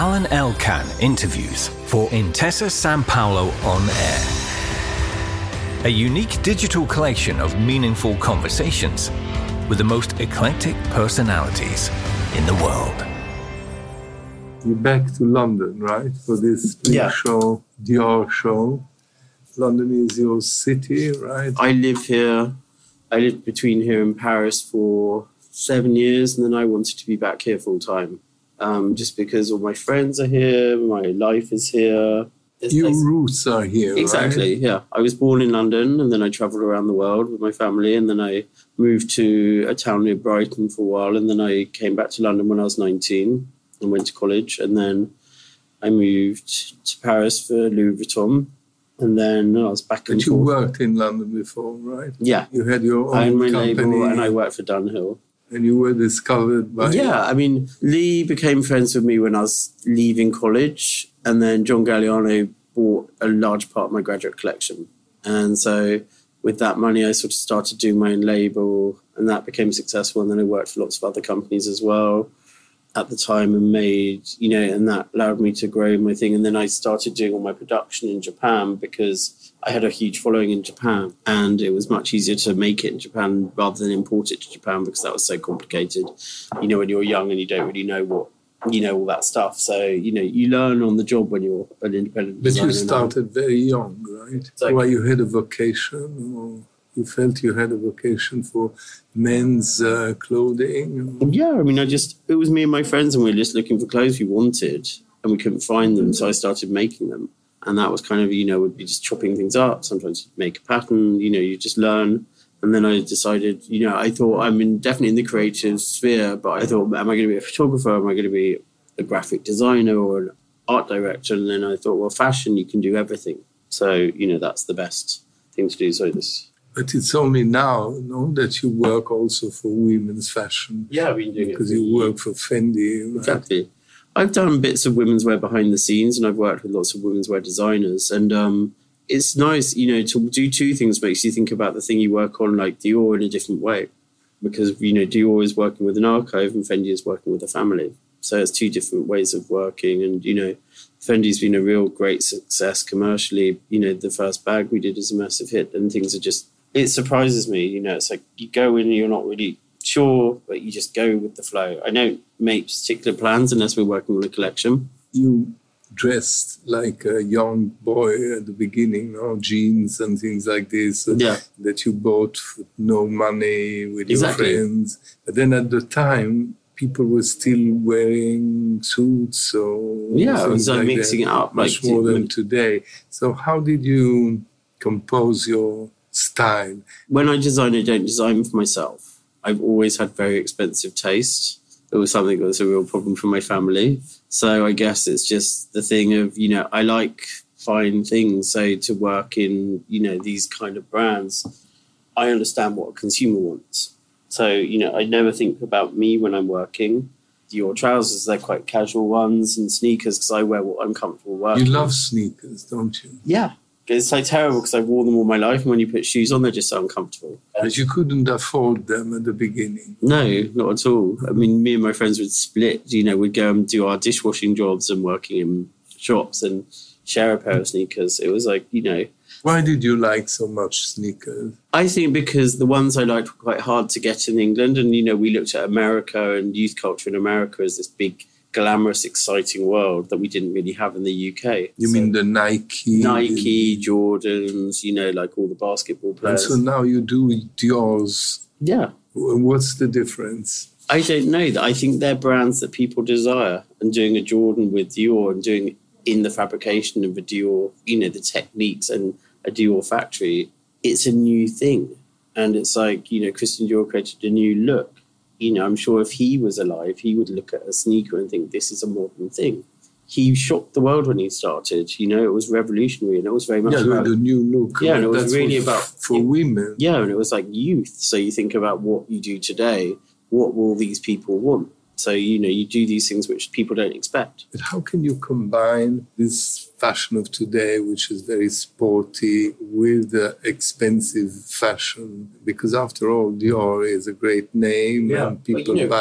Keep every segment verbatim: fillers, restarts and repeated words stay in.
Alan Elkan interviews for Intesa Sanpaolo On Air. A unique digital collection of meaningful conversations with the most eclectic personalities in the world. You're back to London, right? For this big yeah. show, Dior show. London is your city, right? I live here. I lived between here and Paris for seven years, and then I wanted to be back here full time. Um, just because all my friends are here, my life is here. There's Your places... roots are here, exactly, right? yeah. I was born in London, and then I travelled around the world with my family, and then I moved to a town near Brighton for a while, and then I came back to London when I was nineteen and went to college, and then I moved to Paris for Louis Vuitton, and then I was back in. But you forth. worked in London before, right? Yeah. You had your own I owned my company. label, and I worked for Dunhill. And you were discovered by... Yeah, I mean, Lee became friends with me when I was leaving college, and then John Galliano bought a large part of my graduate collection. And so with that money, I sort of started doing my own label, and that became successful. And then I worked for lots of other companies as well at the time and made, you know, and that allowed me to grow my thing. And then I started doing all my production in Japan because I had a huge following in Japan, and it was much easier to make it in Japan rather than import it to Japan because that was so complicated. You know, when you're young and you don't really know what, you know, all that stuff. So, you know, you learn on the job when you're an independent designer. But you started very young, right? Exactly. Why you had a vocation, or you felt you had a vocation for men's uh, clothing? Or... Yeah, I mean, I just, it was me and my friends, and we were just looking for clothes we wanted, and we couldn't find them, so I started making them. And that was kind of, you know, would be just chopping things up. Sometimes you'd make a pattern, you know, you just learn. And then I decided, you know, I thought I'm in, definitely in the creative sphere, but I thought, am I going to be a photographer? Am I going to be a graphic designer or an art director? And then I thought, well, fashion, you can do everything. So, you know, that's the best thing to do. So this. But it's only now, no, that you work also for women's fashion. Yeah, I've been doing it. Because you work for Fendi. Right? Exactly. I've done bits of women's wear behind the scenes, and I've worked with lots of women's wear designers. And um, it's nice, you know, to do two things makes you think about the thing you work on, like Dior, in a different way. Because, you know, Dior is working with an archive and Fendi is working with a family. So it's two different ways of working. And, you know, Fendi's been a real great success commercially. You know, the first bag we did is a massive hit, and things are just, it surprises me. You know, it's like you go in and you're not really sure, but you just go with the flow. I don't make particular plans unless we're working on a collection. You dressed like a young boy at the beginning, no? Jeans and things like this, uh, yeah. that you bought for no money with exactly. your friends. But then at the time, people were still wearing suits or yeah, it was like, like mixing that, it up much like more than today. So how did you compose your style? When I design, I don't design for myself. I've always had very expensive taste. It was something that was a real problem for my family. So I guess it's just the thing of, you know, I like fine things. So to work in, you know, these kind of brands, I understand what a consumer wants. So, you know, I never think about me when I'm working. Your trousers, they're quite casual ones, and sneakers, because I wear what I'm comfortable wearing. You love sneakers, don't you? Yeah. It's so terrible because I've worn them all my life, and when you put shoes on, they're just so uncomfortable. But you couldn't afford them at the beginning. No, not at all. I mean, me and my friends would split, you know, we'd go and do our dishwashing jobs and working in shops and share a pair of sneakers. It was like, you know. Why did you like so much sneakers? I think because the ones I liked were quite hard to get in England. And, you know, we looked at America and youth culture in America as this big, glamorous, exciting world that we didn't really have in the U K. You so mean the Nike? Nike, Jordans, you know, like all the basketball players. And so now you do Dior's. Yeah. What's the difference? I don't know. That I think they're brands that people desire, and doing a Jordan with Dior and doing in the fabrication of a Dior, you know, the techniques and a Dior factory, it's a new thing. And it's like, you know, Christian Dior created a new look. You know, I'm sure if he was alive, he would look at a sneaker and think this is a modern thing. He shocked the world when he started. You know, it was revolutionary, and it was very much yeah, about the new look. Yeah, and it was That's really for, about for yeah, women. Yeah, and it was like youth. So you think about what you do today. What will these people want? So, you know, you do these things which people don't expect. But how can you combine this fashion of today, which is very sporty, with the expensive fashion? Because after all, Dior is a great name, yeah, and people but, you know, buy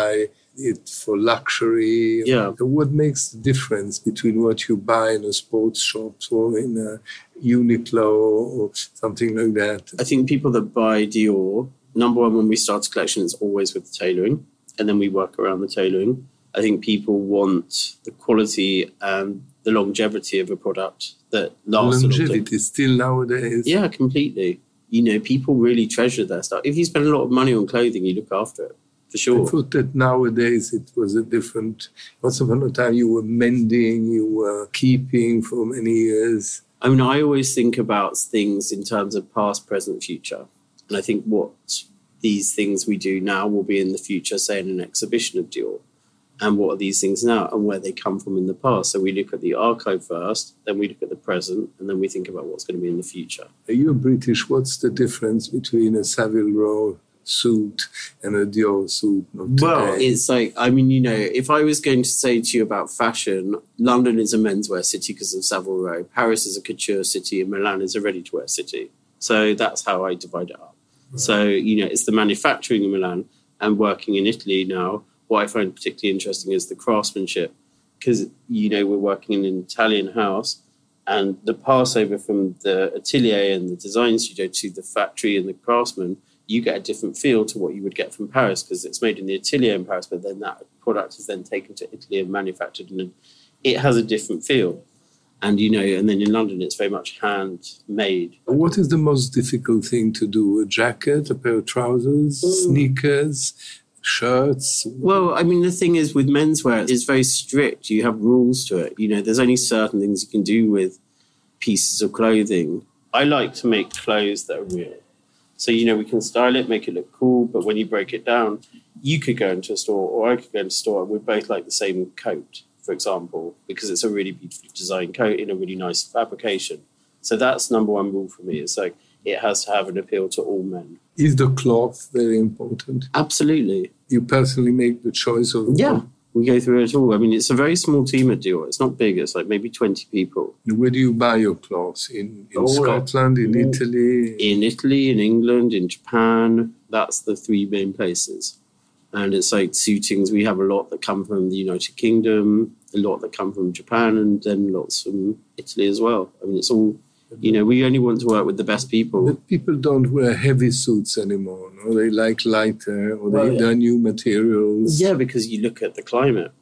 it for luxury. Yeah. What makes the difference between what you buy in a sports shop or in a Uniqlo or something like that? I think people that buy Dior, number one, when we start a collection, it's always with the tailoring, and then we work around the tailoring. I think people want the quality and the longevity of a product that lasts. Longevity still nowadays. Yeah, completely. You know, people really treasure their stuff. If you spend a lot of money on clothing, you look after it, for sure. I thought that nowadays it was a different... Once upon a time you were mending, you were keeping for many years. I mean, I always think about things in terms of past, present, future. And I think what these things we do now will be in the future, say in an exhibition of Dior. And what are these things now and where they come from in the past. So we look at the archive first, then we look at the present, and then we think about what's going to be in the future. You're British. What's the difference between a Savile Row suit and a Dior suit of today? Well, it's like, I mean, you know, if I was going to say to you about fashion, London is a menswear city because of Savile Row. Paris is a couture city and Milan is a ready-to-wear city. So that's how I divide it up. Right. So, you know, it's the manufacturing in Milan and working in Italy now. What I find particularly interesting is the craftsmanship, because, you know, we're working in an Italian house and the passover from the atelier and the design studio to the factory and the craftsman, you get a different feel to what you would get from Paris because it's made in the atelier in Paris, but then that product is then taken to Italy and manufactured and it has a different feel. And, you know, and then in London, it's very much handmade. What is the most difficult thing to do? A jacket, a pair of trousers, mm. sneakers, shirts? Well, I mean, the thing is with menswear, it's very strict. You have rules to it. You know, there's only certain things you can do with pieces of clothing. I like to make clothes that are real. So, you know, we can style it, make it look cool, but when you break it down, you could go into a store or I could go into a store and we'd both like the same coat, for example, because it's a really beautifully designed coat in a really nice fabrication. So that's number one rule for me. It's like, it has to have an appeal to all men. Is the cloth very important? Absolutely. You personally make the choice of... Yeah, we go through it all. I mean, it's a very small team at Dior. It's not big. It's like maybe twenty people. Where do you buy your clothes? In, in oh, Scotland, in yeah. Italy? In Italy, in England, in Japan. That's the three main places. And it's like suitings. We have a lot that come from the United Kingdom, a lot that come from Japan, and then lots from Italy as well. I mean, it's all... You know, we only want to work with the best people. But people don't wear heavy suits anymore, no? They like lighter, or well, they, yeah. they're new materials. Yeah, because you look at the climate.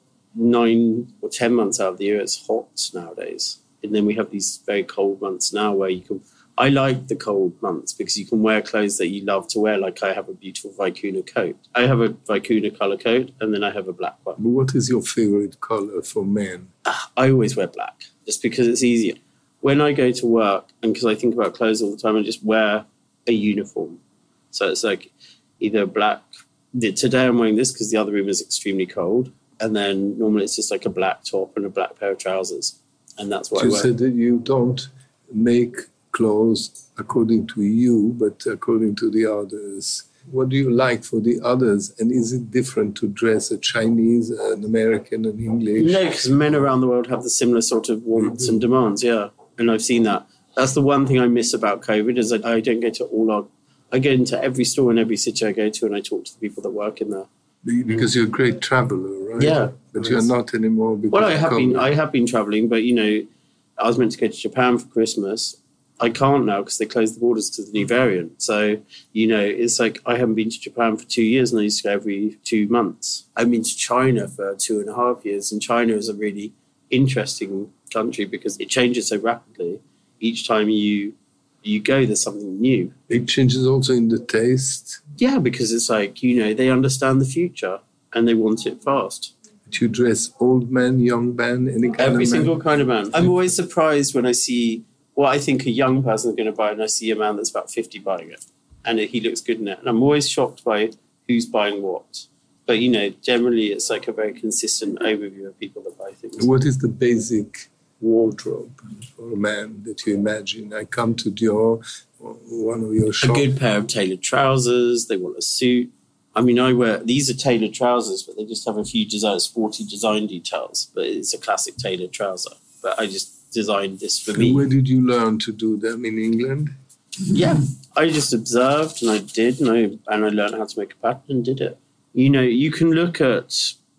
Nine or ten months out of the year, it's hot nowadays. And then we have these very cold months now where you can... I like the cold months because you can wear clothes that you love to wear. Like I have a beautiful Vicuna coat. I have a Vicuna colour coat and then I have a black one. But what is your favourite colour for men? Uh, I always wear black just because it's easier. When I go to work, and because I think about clothes all the time, I just wear a uniform. So it's like either black. Today I'm wearing this because the other room is extremely cold. And then normally it's just like a black top and a black pair of trousers. And that's what you I wear. You said that you don't make clothes according to you, but according to the others. What do you like for the others? And is it different to dress a Chinese, an American, an English? No, because men around the world have the similar sort of wants mm-hmm. and demands, yeah. And I've seen that. That's the one thing I miss about COVID is that I don't go to all our... I go into every store in every city I go to and I talk to the people that work in there. Because you're a great traveller, right? Yeah. But you're not anymore because Well, I have COVID. been I have been travelling, but, you know, I was meant to go to Japan for Christmas. I can't now because they closed the borders to the new variant. So, you know, it's like I haven't been to Japan for two years and I used to go every two months. I've been to China for two and a half years and China is a really interesting country because it changes so rapidly. Each time you you go, there's something new. It changes also in the taste? Yeah, because it's like, you know, they understand the future and they want it fast. But you dress old men, young men, any kind Every of single man? kind of man. I'm always surprised when I see what I think a young person is going to buy and I see a man that's about fifty buying it. And he looks good in it. And I'm always shocked by who's buying what. But, you know, generally it's like a very consistent overview of people that buy things. What is the basic wardrobe for a man that you imagine? I come to Dior, one of your shops. A good pair of tailored trousers. They want a suit. I mean, I wear... These are tailored trousers, but they just have a few design, sporty design details. But it's a classic tailored trouser. But I just designed this for and me. Where did you learn to do them? In England? Yeah. I just observed and I did and I, and I learned how to make a pattern and did it. You know, you can look at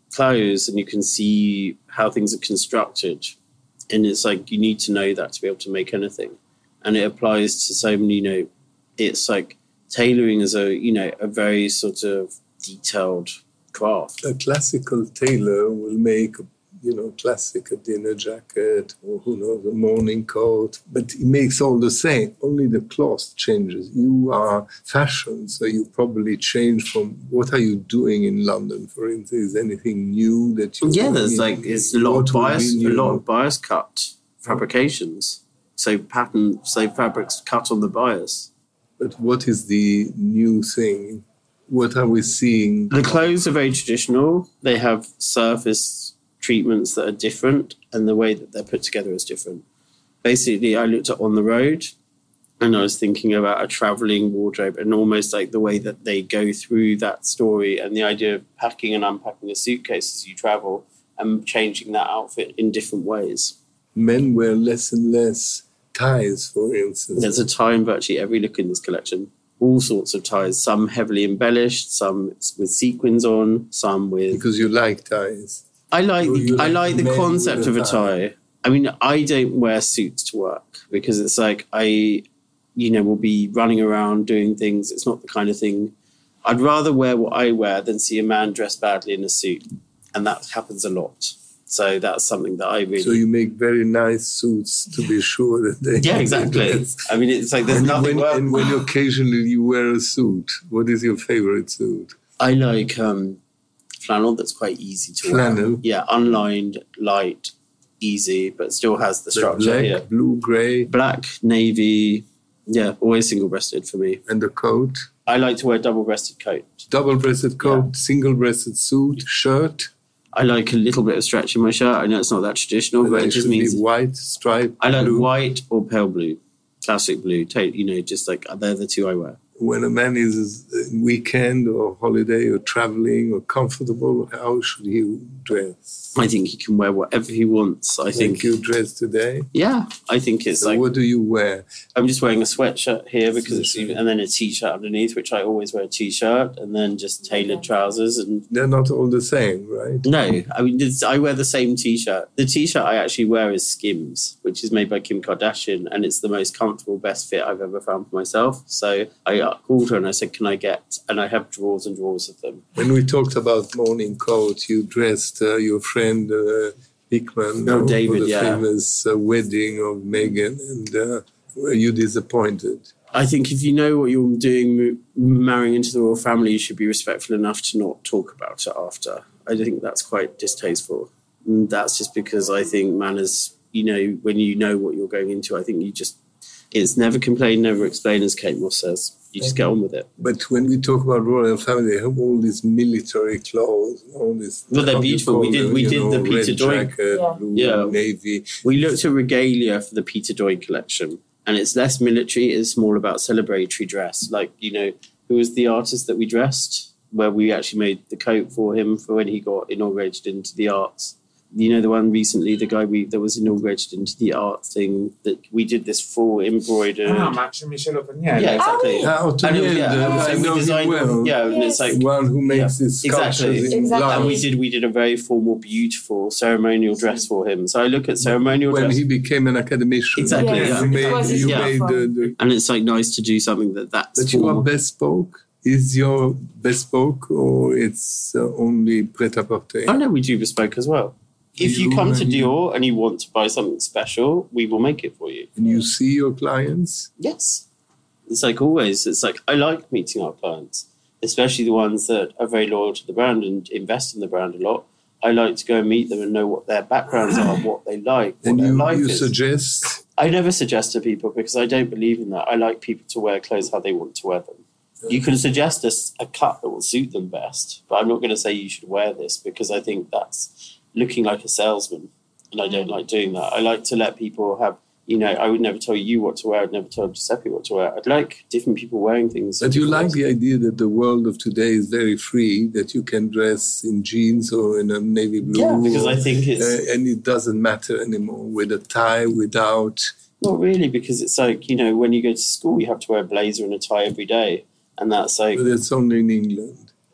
clothes and you can see how things are constructed. And it's like, you need to know that to be able to make anything. And it applies to so many, you know, it's like tailoring is a, you know, a very sort of detailed craft. A classical tailor will make, you know, classic, a dinner jacket or who knows, a morning coat, but he makes all the same. Only the cloth changes. You are fashion, so you probably change from, what are you doing in London, for instance? Is anything new that you... Yeah, there's like, it's a lot of bias, a lot of bias cut fabrications. So pattern, so fabrics cut on the bias. But what is the new thing? What are we seeing? The clothes are very traditional. They have surface treatments that are different, and the way that they're put together is different. Basically, I looked at On the Road, and I was thinking about a traveling wardrobe and almost like the way that they go through that story and the idea of packing and unpacking a suitcase as you travel and changing that outfit in different ways. Men wear less and less ties, for instance. There's a tie in virtually every look in this collection. All sorts of ties, some heavily embellished, some with sequins on, some with... Because you like ties. I like You- the, you I like like the men concept with of a a tie. I mean, I don't wear suits to work because it's like I, you know, will be running around doing things. It's not the kind of thing. I'd rather wear what I wear than see a man dressed badly in a suit, and that happens a lot. So that's something that I really... So you make very nice suits to be sure that they... Yeah, exactly. I mean, it's like there's And nothing... when, worse- and when occasionally you wear a suit, what is your favorite suit? I like um, flannel that's quite easy to Flannel? wear. Yeah, unlined, light, easy, but still has the The structure. black, Yeah. blue, grey, Black, navy, yeah, always single-breasted for me. and the coat. I like to wear double-breasted coat. Double-breasted coat, single-breasted suit, shirt. I like a little bit of stretch in my shirt. I know it's not that traditional, And but it it just should be means white, striped, I like blue. white or pale blue, classic blue. ta- You know, just like they're the two I wear. When a man is in weekend or holiday or traveling or comfortable, how should he dress? I think he can wear whatever he wants. I think, Like you dress today? yeah, I think it's So like what do you wear? I'm just wearing a sweatshirt here because it's even, and then a t-shirt underneath, which I always wear a t-shirt, and then just tailored trousers. And They're not all the same, right? no, I mean it's, I wear the same t-shirt. The t-shirt I actually wear is Skims, which is made by Kim Kardashian, and it's the most comfortable, best fit I've ever found for myself. So I called her and I said, "Can I get?" And I have drawers and drawers of them. When we talked about morning coat, you dressed uh, your friend uh, Hickman Oh, uh, David, for the yeah. famous uh, wedding of Meghan, and uh, were you disappointed? I think if you know what you're doing, marrying into the royal family, you should be respectful enough to not talk about it after. I think that's quite distasteful. And that's just because I think manners, you know, when you know what you're going into, I think you just, it's never complain, never explain, as Kate Moss says. You just get on with it. But when we talk about royal family, they have all these military clothes, all this. Well, they're how do you beautiful. call We did- them, we you did know, the Peter red Doig. jacket, Yeah. blue, Yeah. navy. We looked at regalia for the Peter Doig collection, and it's less military, it's more about celebratory dress. Like, you know, who was the artist that we dressed, where we actually made the coat for him for when he got inaugurated into the arts. You know, the one recently, the guy we that was inaugurated into the art thing, that we did this full embroidered. Ah, Max and Michel Ottonieri. Yeah, exactly. Ah, And it was- Otoniel, yeah, uh, so I we know him designed, well. yeah, and it's like, One who makes Yeah, his sculptures exactly. in Exactly. and we glass. did we did a very formal, beautiful ceremonial dress for him. So I look at ceremonial When dress, he became an academician. Exactly, Yes, yeah. You it made, was his you Yeah. made the, the and it's like nice to do something that that's But you are formal. bespoke? Is your bespoke or it's uh, only pret-à-porter? I know we do bespoke as well. If you You come to and you- Dior and you want to buy something special, we will make it for you. And you see your clients? Yes. It's like always, it's like I like meeting our clients, especially the ones that are very loyal to the brand and invest in the brand a lot. I like to go and meet them and know what their backgrounds are, what they like, what And their you, life you is. suggest? I never suggest to people because I don't believe in that. I like people to wear clothes how they want to wear them. You can suggest a, a cut that will suit them best, but I'm not going to say you should wear this because I think that's looking like a salesman, and I don't like doing that. I like to let people have, you know, I would never tell you what to wear. I'd never tell Giuseppe what to wear. I'd like different people wearing things. But you like the idea that the world of today is very free, that you can dress in jeans or in a navy blue. Yeah, because or, I think it's... Uh, and it doesn't matter anymore with a tie, without. Not really, because it's like, you know, when you go to school, you have to wear a blazer and a tie every day. And that's like... But it's only in England.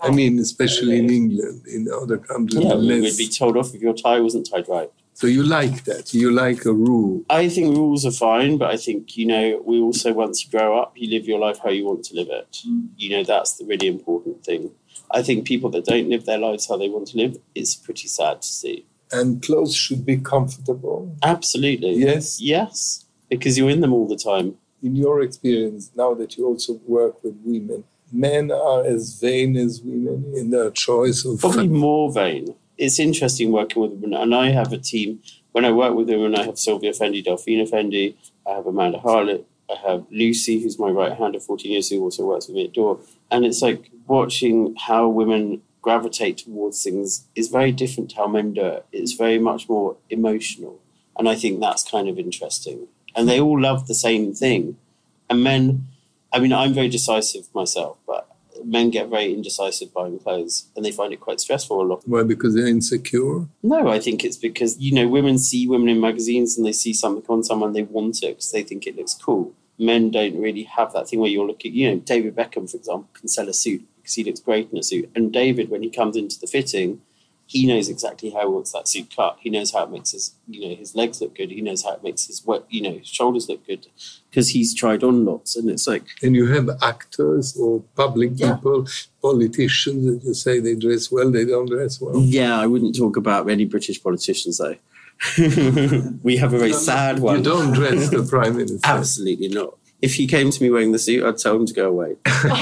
I mean, especially in England, in other countries. Yeah, we less. would be told off if your tie wasn't tied right. So you like that? You like a rule? I think rules are fine, but I think, you know, we also, once you grow up, you live your life how you want to live it. Mm. You know, that's the really important thing. I think people that don't live their lives how they want to live, it's pretty sad to see. And clothes should be comfortable? Absolutely. Yes? Yes, because you're in them all the time. In your experience, now that you also work with women, men are as vain as women in their choice of... Probably more vain. It's interesting working with women, and I have a team. When I work with women, I have Sylvia Fendi, Delphina Fendi, I have Amanda Harlett, I have Lucy, who's my right hand of fourteen years, who also works with me at Door. And it's like watching how women gravitate towards things is very different to how men do it. It's very much more emotional. And I think that's kind of interesting. And they all love the same thing. And men, I mean, I'm very decisive myself, but men get very indecisive buying clothes and they find it quite stressful a lot. Why? Because they're insecure? No, I think it's because, you know, women see women in magazines and they see something on someone, they want it because they think it looks cool. Men don't really have that thing where you're looking, you know, David Beckham, for example, can sell a suit because he looks great in a suit. And David, when he comes into the fitting, he knows exactly how he wants that suit cut. He knows how it makes his, you know, his legs look good. He knows how it makes his, you know, his shoulders look good because he's tried on lots. And it's like... And you have actors or public yeah. people, politicians, that you say they dress well, they don't dress well. Yeah, I wouldn't talk about any British politicians, though. We have a very sad one. You don't dress the Prime Minister. Absolutely not. If he came to me wearing the suit, I'd tell him to go away.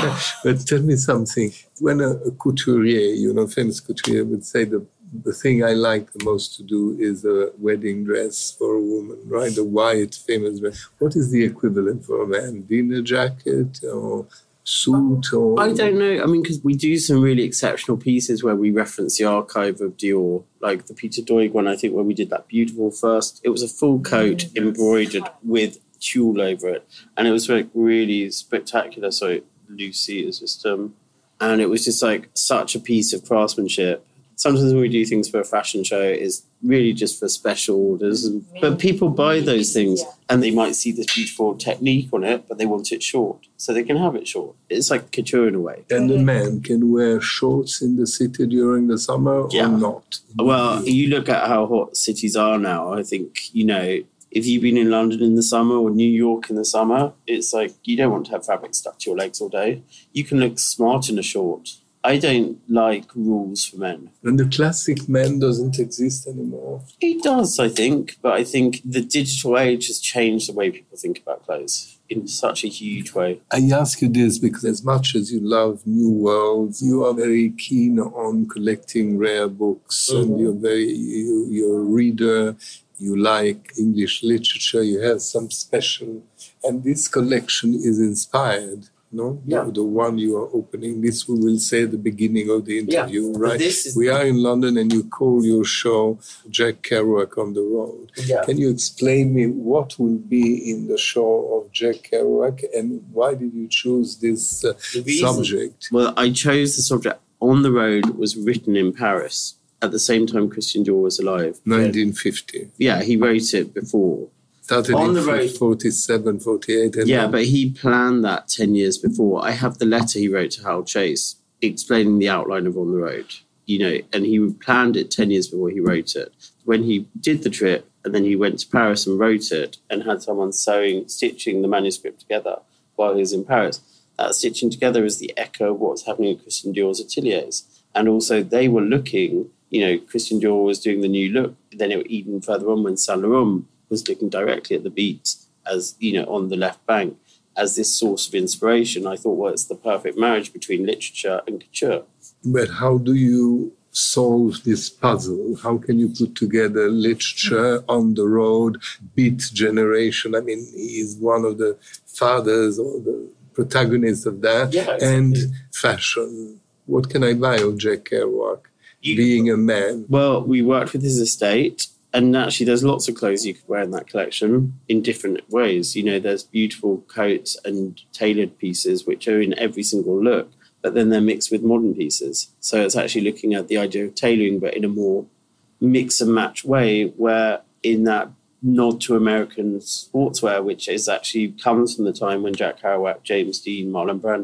But tell me something. When a, a couturier, you know, famous couturier would say the the thing I like the most to do is a wedding dress for a woman, right? The white famous dress. What is the equivalent for a man? Dinner jacket or suit? Or I don't know. I mean, because we do some really exceptional pieces where we reference the archive of Dior, like the Peter Doig one, I think, where we did that beautiful first. It was a full coat embroidered with tulle over it, and it was like really spectacular. So Lucy is just um and it was just like such a piece of craftsmanship. Sometimes when we do things for a fashion show, it's really just for special orders, but people buy those things and they might see this beautiful technique on it, but they want it short, so they can have it short. It's like couture in a way. And the man can wear shorts in the city during the summer yeah. or not? Well, you look at how hot cities are now. I think, you know, if you've been in London in the summer or New York in the summer, it's like you don't want to have fabric stuck to your legs all day. You can look smart in a short. I don't like rules for men. And the classic man doesn't exist anymore. It does, I think. But I think the digital age has changed the way people think about clothes in such a huge way. I ask you this because as much as you love new worlds, you are very keen on collecting rare books, mm-hmm. and you're very, you, you're a reader. You like English literature, you have some special... And this collection is inspired, no? Yeah. The, the one you are opening. This we will say at the beginning of the interview, yeah. right? This is we are in London and you call your show Jack Kerouac on the Road. Yeah. Can you explain me what will be in the show of Jack Kerouac and why did you choose this uh, subject? Well, I chose the subject. On the Road was written in Paris. At the same time Christian Dior was alive. nineteen fifty. Yeah, he wrote it before. Started on in the road. forty-seven, forty-eight. And yeah, on. but he planned that ten years before. I have the letter he wrote to Harold Chase explaining the outline of On the Road, you know, and he planned it ten years before he wrote it. When he did the trip and then he went to Paris and wrote it and had someone sewing, stitching the manuscript together while he was in Paris, that stitching together is the echo of what's happening at Christian Dior's ateliers. And also they were looking... You know, Christian Dior was doing the new look. Then it, even further on, when Saint Laurent was looking directly at the beat, as you know, on the left bank, as this source of inspiration, I thought, well, it's the perfect marriage between literature and couture. But how do you solve this puzzle? How can you put together literature, On the Road, Beat generation? I mean, he is one of the fathers or the protagonists of that, yeah, exactly. And fashion. What can I buy of Jack Kerouac? You, being a man. Well, we worked with his estate, and actually there's lots of clothes you could wear in that collection in different ways. You know, there's beautiful coats and tailored pieces which are in every single look, but then they're mixed with modern pieces. So it's actually looking at the idea of tailoring, but in a more mix and match way, where in that nod to American sportswear, which is actually comes from the time when Jack Kerouac, James Dean, Marlon Brando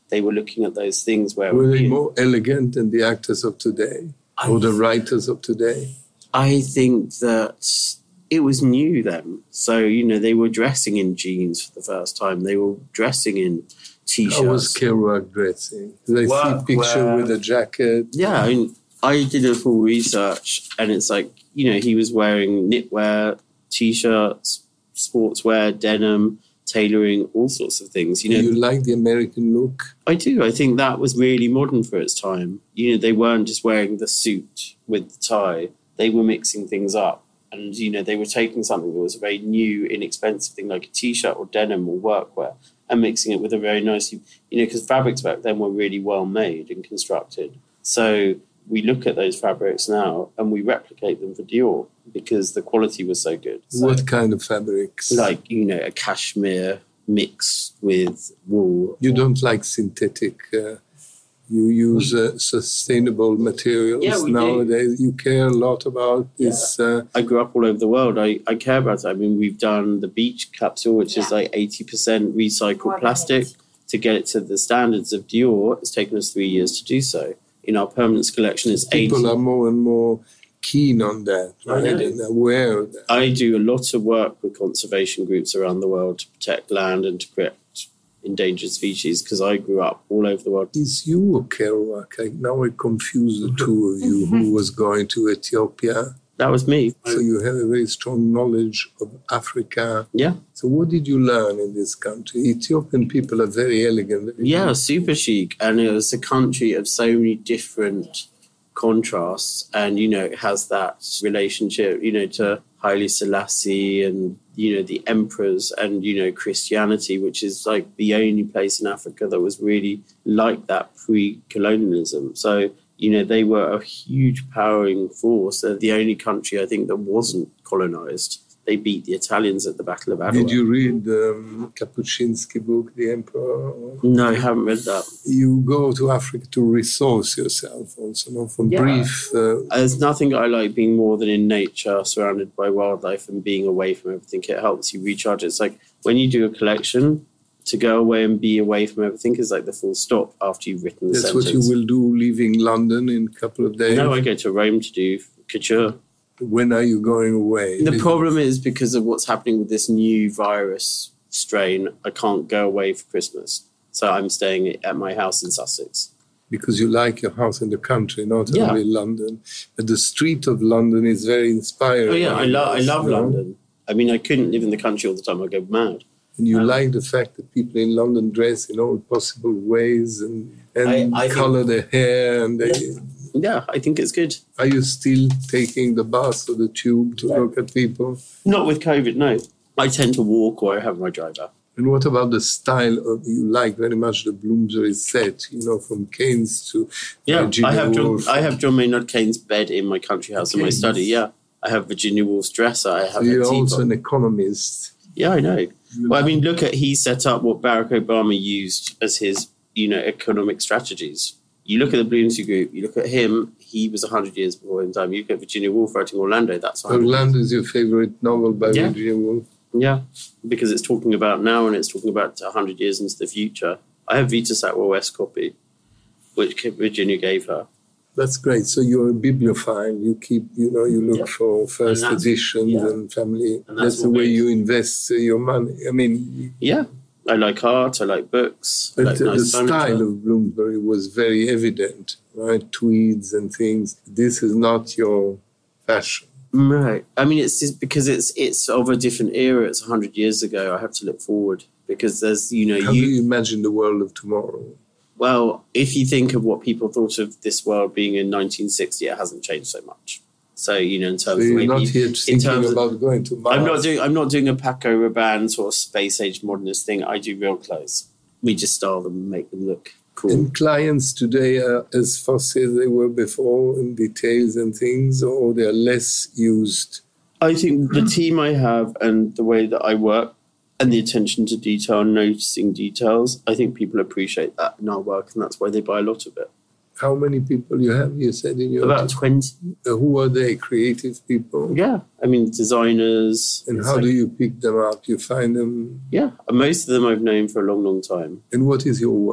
they were looking at those things where... Were they more elegant than the actors of today? I, or the writers of today? I think that it was new then. So, you know, they were dressing in jeans for the first time. They were dressing in T-shirts. How was Kerouac dressing? Did I see a picture well, with a jacket? Yeah, I mean, I did a full research, and it's like, you know, he was wearing knitwear, T-shirts, sportswear, denim, tailoring, all sorts of things. You know, do you like the American look? I do. I think that was really modern for its time. You know, they weren't just wearing the suit with the tie. They were mixing things up. And, you know, they were taking something that was a very new, inexpensive thing like a T-shirt or denim or workwear and mixing it with a very nice, you know, because fabrics back then were really well made and constructed. So we look at those fabrics now and we replicate them for Dior because the quality was so good. So, what kind of fabrics? Like, you know, a cashmere mixed with wool. You don't like synthetic... Uh, You use uh, sustainable materials yeah, we nowadays. Do. You care a lot about this. Yeah. Uh, I grew up all over the world. I, I care about it. I mean, we've done the beach capsule, which yeah. is like eighty percent recycled More plastic. To get it to the standards of Dior, it's taken us three years to do so. In our permanence collection, it's eighty. People are more and more keen on that, right? And aware of that. I do a lot of work with conservation groups around the world to protect land and to protect endangered species because I grew up all over the world. Is you or Kerouac? I, now I confuse the two of you. Who was going to Ethiopia? That was me. So you have a very strong knowledge of Africa. Yeah. So what did you learn in this country? Ethiopian people are very elegant. Very yeah, good. Super chic. And it was a country of so many different contrasts. And, you know, it has that relationship, you know, to Haile Selassie and, you know, the emperors and, you know, Christianity, which is like the only place in Africa that was really like that pre-colonialism. So, you know, they were a huge powering force. They're the only country, I think, that wasn't colonized. They beat the Italians at the Battle of Adwa. Did you read the um, Kapuscinski book, The Emperor? No, I haven't read that. You go to Africa to resource yourself also, not from yeah. brief... Uh, There's nothing I like being more than in nature, surrounded by wildlife and being away from everything. It helps you recharge. It's like when you do a collection, to go away and be away from everything is like the full stop after you've written the That's sentence. That's what you will do leaving London in a couple of days? No, I go to Rome to do couture. When are you going away? The problem is because of what's happening with this new virus strain, I can't go away for Christmas. So I'm staying at my house in Sussex. Because you like your house in the country, not yeah. only London. But the street of London is very inspiring. Oh, yeah, I, lo- I love no? London. I mean, I couldn't live in the country all the time. I'd go mad. And you um, like the fact that people in London dress in all possible ways and, and I, I colour think, their hair and they... Yeah. Yeah, I think it's good. Are you still taking the bus or the tube to yeah. look at people? Not with COVID, no. I tend to walk or I have my driver. And what about the style of, you like very much the Bloomsbury set, you know, from Keynes to yeah, Virginia I have Woolf. John, I have John Maynard Keynes' bed in my country house Keynes. In my study, yeah. I have Virginia Woolf's dresser. I have so you're a also an economist. Yeah, I know. You well, I mean, look at, he set up what Barack Obama used as his, you know, economic strategies. You look at the Bloomsbury Group, you look at him, he was one hundred years before his time. You look at Virginia Woolf writing Orlando, that's Orlando is your favourite novel by yeah. Virginia Woolf? Yeah, because it's talking about now and it's talking about one hundred years into the future. I have Vita Satwell West copy, which Virginia gave her. That's great. So you're a bibliophile. You keep, you know, you look yeah. for first and editions yeah. and family. And that's, that's the way you invest your money. I mean... Yeah. I like art, I like books. But I like the, nice the style of Bloomsbury was very evident, right? Tweeds and things. This is not your fashion. Right. I mean, it's just because it's it's of a different era. It's one hundred years ago. I have to look forward because there's, you know... How you, do you imagine the world of tomorrow? Well, if you think of what people thought of this world being in nineteen sixty, it hasn't changed so much. So, you know, in terms so you're of... You're not you, here thinking about of, going to Mars? I'm not doing I'm not doing a Paco Rabanne sort of space-age modernist thing. I do real clothes. We just style them and make them look cool. And clients today are as fussy as they were before in details and things, or they're less used? I think the team I have and the way that I work and the attention to detail, noticing details, I think people appreciate that in our work, and that's why they buy a lot of it. How many people you have, you said, in your... About twenty. Uh, who are they? Creative people? Yeah. I mean, designers. And how like, do you pick them up? You find them? Yeah. Most of them I've known for a long, long time. And what is your work?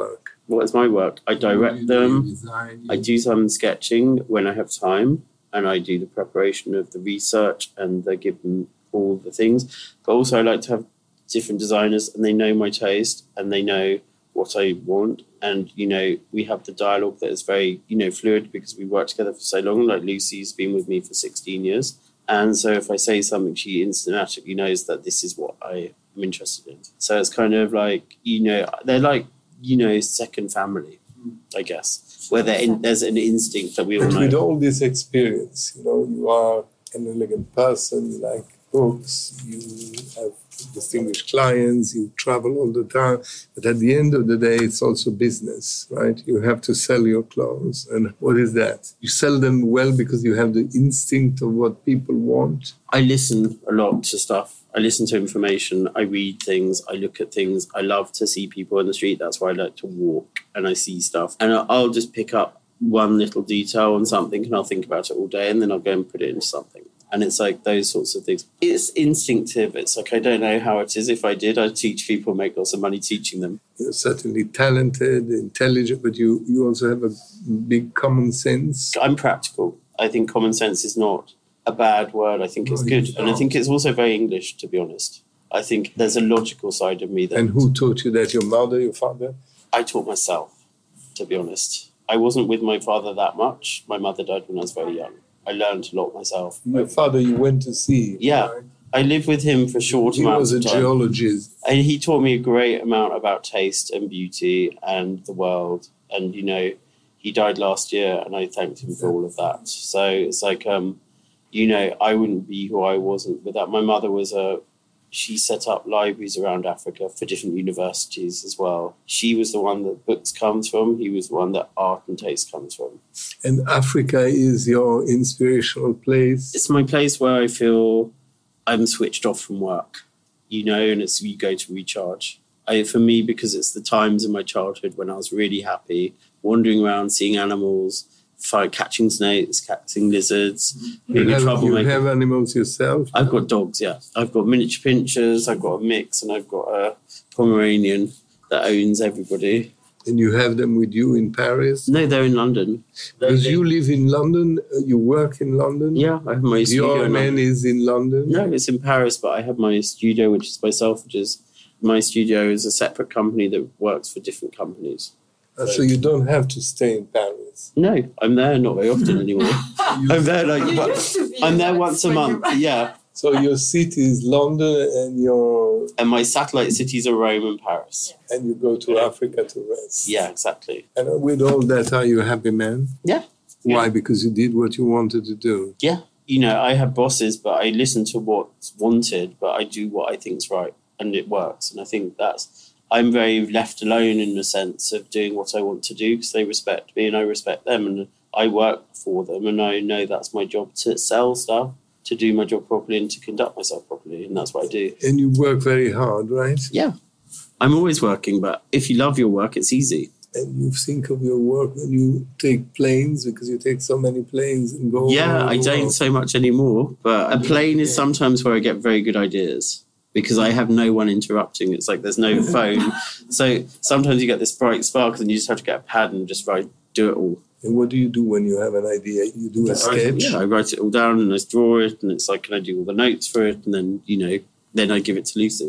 What is my work? I direct them. I do some sketching when I have time, and I do the preparation of the research, and I give them all the things. But also I like to have different designers, and they know my taste, and they know what I want. And, you know, we have the dialogue that is very, you know, fluid because we worked together for so long. Like Lucy's been with me for sixteen years. And so if I say something, she instantly knows that this is what I am interested in. So it's kind of like, you know, they're like, you know, second family, I guess, where in, there's an instinct that we all but know. With all this experience, you know, you are an elegant person, you like books, you have distinguished clients, you travel all the time. But at the end of the day, it's also business, right? You have to sell your clothes. And what is that? You sell them well because you have the instinct of what people want. I listen a lot to stuff. I listen to information. I read things. I look at things. I love to see people in the street. That's why I like to walk and I see stuff. And I'll just pick up one little detail on something and I'll think about it all day and then I'll go and put it into something. And it's like those sorts of things. It's instinctive. It's like, I don't know how it is. If I did, I'd teach people, make lots of money teaching them. You're certainly talented, intelligent, but you, you also have a big common sense. I'm practical. I think common sense is not a bad word. I think it's No, good. it's And I not. think it's also very English, to be honest. I think there's a logical side of me that And who taught you that? Your mother, your father? I taught myself, to be honest. I wasn't with my father that much. My mother died when I was very young. I learned a lot myself. Your father you went to see. Yeah. Right? I lived with him for short He amounts was a of time. geologist. And he taught me a great amount about taste and beauty and the world. And, you know, he died last year and I thanked him for all of that. So it's like, um, you know, I wouldn't be who I wasn't without. My mother was a, she set up libraries around Africa for different universities as well. She was the one that books comes from. He was the one that art and taste comes from. And Africa is your inspirational place. It's my place where I feel I'm switched off from work, you know, and it's you go to recharge. I, for me, because it's the times in my childhood when I was really happy, wandering around, seeing animals, fight, catching snakes, catching lizards, being You a have, you troublemaker. have animals yourself? I've got dogs, yeah. I've got miniature pinchers, I've got a mix, and I've got a Pomeranian that owns everybody. And you have them with you in Paris? No, they're in London. Because you live in London, uh, you work in London? Yeah, I have my studio. Your in man London. is in London? No, it's in Paris, but I have my studio, which is by Selfridges. My studio is a separate company that works for different companies. Uh, so you don't have to stay in Paris? No, I'm there not very often anymore. I'm there like, You but used to be I'm there like once a when month. you- Yeah, So your city is London and your and my satellite cities are Rome and Paris. and you go to Africa to rest. Yeah, exactly. And with all that, are you a happy man? Yeah. Why? Because you did what you wanted to do. Yeah, you know, I have bosses, but I listen to what's wanted, but I do what I think's right, and it works. And I think that's, I'm very left alone in the sense of doing what I want to do because they respect me and I respect them, and I work for them, and I know that's my job to sell stuff, to do my job properly, and to conduct myself properly, and that's what I do. And you work very hard, right? Yeah, I'm always working, but if you love your work, it's easy. And you think of your work when you take planes, because you take so many planes and go. Yeah, all I over. don't so much anymore, but a plane is sometimes where I get very good ideas because I have no one interrupting. It's like there's no phone. So sometimes you get this bright spark and you just have to get a pad and just write, do it all. And what do you do when you have an idea? You do a sketch? Yeah, I write it all down and I draw it, and it's like, can I do all the notes for it? And then, you know, then I give it to Lucy.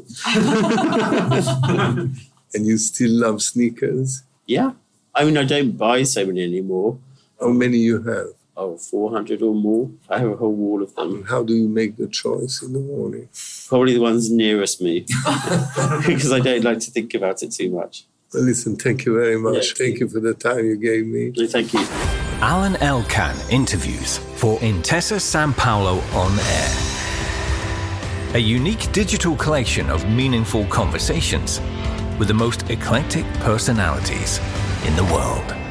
And you still love sneakers? Yeah. I mean, I don't buy so many anymore. How many you have? Oh, four hundred or more. I have a whole wall of them. And how do you make the choice in the morning? Probably the ones nearest me because I don't like to think about it too much. Well, listen, thank you very much. Yeah. Thank you for the time you gave me. No, thank you. Alan Elkan interviews for Intesa Sanpaolo On Air. A unique digital collection of meaningful conversations with the most eclectic personalities in the world.